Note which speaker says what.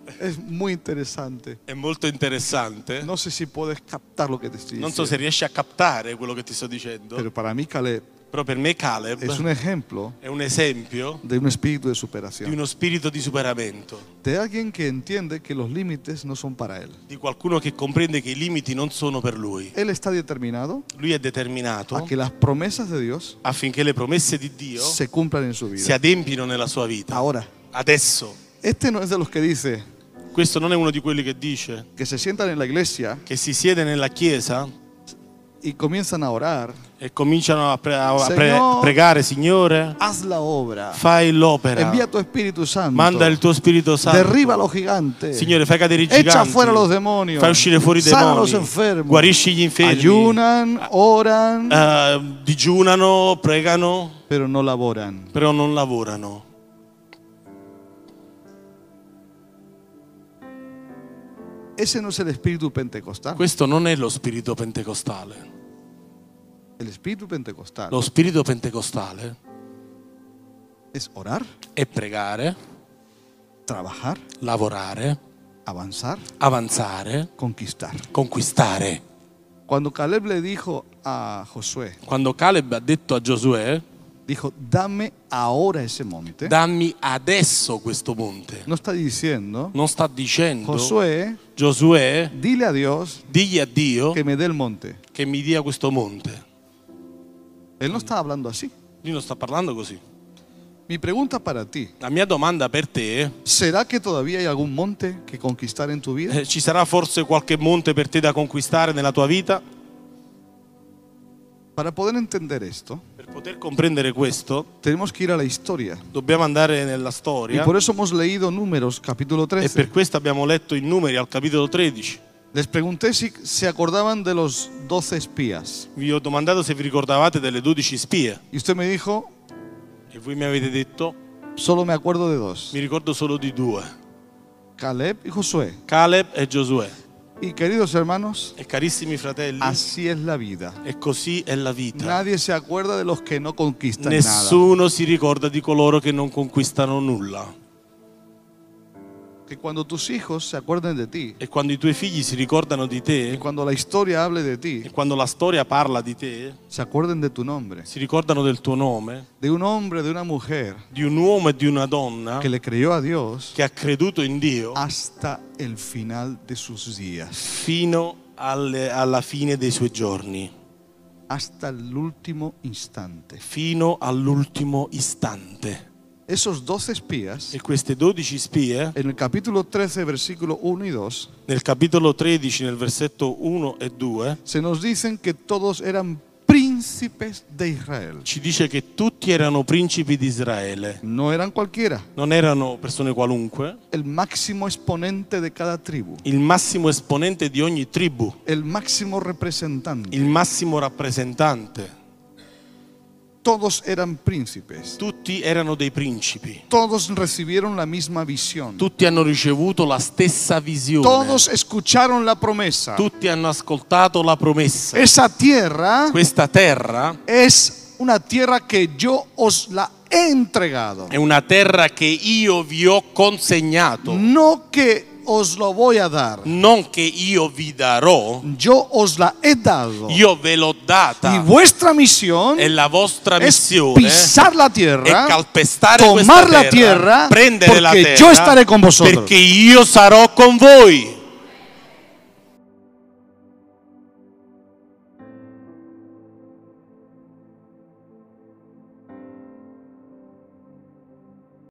Speaker 1: Es muy interesante.
Speaker 2: È molto interessante.
Speaker 1: No sé si puedes captar lo que te estoy
Speaker 2: Non so
Speaker 1: diciendo.
Speaker 2: se riesci a captare quello che ti sto dicendo,
Speaker 1: Pero para mí Caleb
Speaker 2: però per me Caleb
Speaker 1: es un ejemplo
Speaker 2: è un esempio
Speaker 1: de un espíritu de
Speaker 2: di
Speaker 1: superación.
Speaker 2: uno spirito di superamento,
Speaker 1: De alguien que entiende que los límites no son para él.
Speaker 2: di qualcuno che comprende che i limiti non sono per lui.
Speaker 1: Él está determinado
Speaker 2: Lui è determinato
Speaker 1: a que las promesas de Dios
Speaker 2: affinché le promesse di Dio
Speaker 1: se cumplan en su
Speaker 2: si
Speaker 1: vida.
Speaker 2: adempino nella sua vita.
Speaker 1: Ahora,
Speaker 2: Adesso,
Speaker 1: este no es de los que dice
Speaker 2: questo non è uno di quelli che dice
Speaker 1: que se sientan en la iglesia
Speaker 2: che si siede nella chiesa
Speaker 1: y comienzan a orar.
Speaker 2: e cominciano a
Speaker 1: Signore,
Speaker 2: pregare, Signore,
Speaker 1: Haz la obra.
Speaker 2: fai l'opera,
Speaker 1: Envía tu Espíritu Santo.
Speaker 2: manda il tuo Spirito Santo.
Speaker 1: Derriba a los gigantes.
Speaker 2: Signore, fai cadere i
Speaker 1: Echa
Speaker 2: giganti,
Speaker 1: fuera los demonios.
Speaker 2: fai uscire fuori i
Speaker 1: Sana a los
Speaker 2: demoni,
Speaker 1: enfermos.
Speaker 2: guarisci gli infermi,
Speaker 1: Ayunan, oran,
Speaker 2: digiunano, pregano,
Speaker 1: pero no laboran.
Speaker 2: però non lavorano.
Speaker 1: Ese no es el espíritu pentecostal.
Speaker 2: Questo non è lo spirito pentecostale.
Speaker 1: El espíritu pentecostal
Speaker 2: Lo spirito pentecostale
Speaker 1: es orar,
Speaker 2: è pregare,
Speaker 1: trabajar,
Speaker 2: lavorare,
Speaker 1: avanzar,
Speaker 2: avanzare,
Speaker 1: conquistar.
Speaker 2: conquistare.
Speaker 1: Cuando Caleb le dijo a Josué,
Speaker 2: Quando Caleb ha detto a Giosuè,
Speaker 1: dijo, dame ahora ese monte,
Speaker 2: dammi adesso questo monte,
Speaker 1: no está diciendo,
Speaker 2: non sta dicendo,
Speaker 1: Josué,
Speaker 2: Giosuè,
Speaker 1: dile a Dios
Speaker 2: digli a Dio
Speaker 1: que me dé el monte.
Speaker 2: che mi dia questo monte.
Speaker 1: Él no está hablando así.
Speaker 2: Lui non sta parlando così.
Speaker 1: Mi pregunta para ti,
Speaker 2: La mia domanda per te
Speaker 1: ¿será que todavía hay algún monte que conquistar en tu vida?
Speaker 2: è, ci sarà forse qualche monte per te da conquistare nella tua vita?
Speaker 1: Para poder entender esto,
Speaker 2: Per poter comprendere questo,
Speaker 1: tenemos que ir a la historia.
Speaker 2: dobbiamo andare nella
Speaker 1: Y
Speaker 2: storia
Speaker 1: por eso hemos leído Números capítulo
Speaker 2: e per
Speaker 1: 13.
Speaker 2: questo abbiamo letto i numeri al capitolo 13.
Speaker 1: Les pregunté si se acordaban de los 12 espías.
Speaker 2: Vi ho domandato se vi ricordavate delle 12 spie
Speaker 1: Y usted me dijo,
Speaker 2: e voi mi avete detto
Speaker 1: solo me acuerdo de dos.
Speaker 2: mi ricordo solo di due,
Speaker 1: Caleb y Josué.
Speaker 2: Caleb e Giosuè.
Speaker 1: Y queridos hermanos,
Speaker 2: E carissimi fratelli,
Speaker 1: así es la vida.
Speaker 2: e così è la vita.
Speaker 1: Nadie se acuerda de los que no conquistan nada.
Speaker 2: Nessuno si ricorda di coloro che non conquistano nulla.
Speaker 1: Que cuando tus hijos se acuerden de ti,
Speaker 2: E quando i tuoi figli si ricordano di
Speaker 1: y
Speaker 2: te,
Speaker 1: cuando la historia hable de ti,
Speaker 2: e quando la storia parla di te,
Speaker 1: se acuerden de tu nombre.
Speaker 2: si ricordano del tuo nome,
Speaker 1: De un hombre, de una mujer
Speaker 2: di un uomo e di una donna
Speaker 1: que le creyó a Dios
Speaker 2: che ha creduto in Dio
Speaker 1: hasta el final de sus días.
Speaker 2: fino alla fine dei suoi giorni,
Speaker 1: Hasta el último instante.
Speaker 2: fino all'ultimo istante.
Speaker 1: Esos 12 espías,
Speaker 2: E queste 12 spie,
Speaker 1: en el capítulo 13, versículo 1 y 2,
Speaker 2: nel capitolo 13, nel versetto 1 e 2,
Speaker 1: se nos dicen que todos eran príncipes de Israel.
Speaker 2: ci dice che tutti erano principi di Israele.
Speaker 1: No eran cualquiera,
Speaker 2: Non erano persone qualunque,
Speaker 1: el máximo exponente de cada tribu,
Speaker 2: il massimo esponente di ogni tribù,
Speaker 1: el máximo representante.
Speaker 2: il massimo rappresentante.
Speaker 1: Todos eran príncipes.
Speaker 2: Tutti erano dei principi.
Speaker 1: Todos recibieron la misma visión.
Speaker 2: Tutti hanno ricevuto la stessa visione.
Speaker 1: Todos escucharon la promesa.
Speaker 2: Tutti hanno ascoltato la promessa.
Speaker 1: Esa tierra
Speaker 2: Questa terra
Speaker 1: es una tierra que yo os la he entregado.
Speaker 2: è una terra che io vi ho consegnato,
Speaker 1: No que os lo voy a dar.
Speaker 2: non che io vi darò,
Speaker 1: Yo os la he dado.
Speaker 2: io ve l'ho
Speaker 1: Y
Speaker 2: data.
Speaker 1: vuestra misión
Speaker 2: E la vostra
Speaker 1: es
Speaker 2: missione
Speaker 1: pisar la
Speaker 2: è
Speaker 1: tierra,
Speaker 2: calpestare
Speaker 1: tomar
Speaker 2: questa
Speaker 1: la tierra,
Speaker 2: prendere la
Speaker 1: porque
Speaker 2: terra,
Speaker 1: yo estaré con vosotros.
Speaker 2: perché io sarò con voi.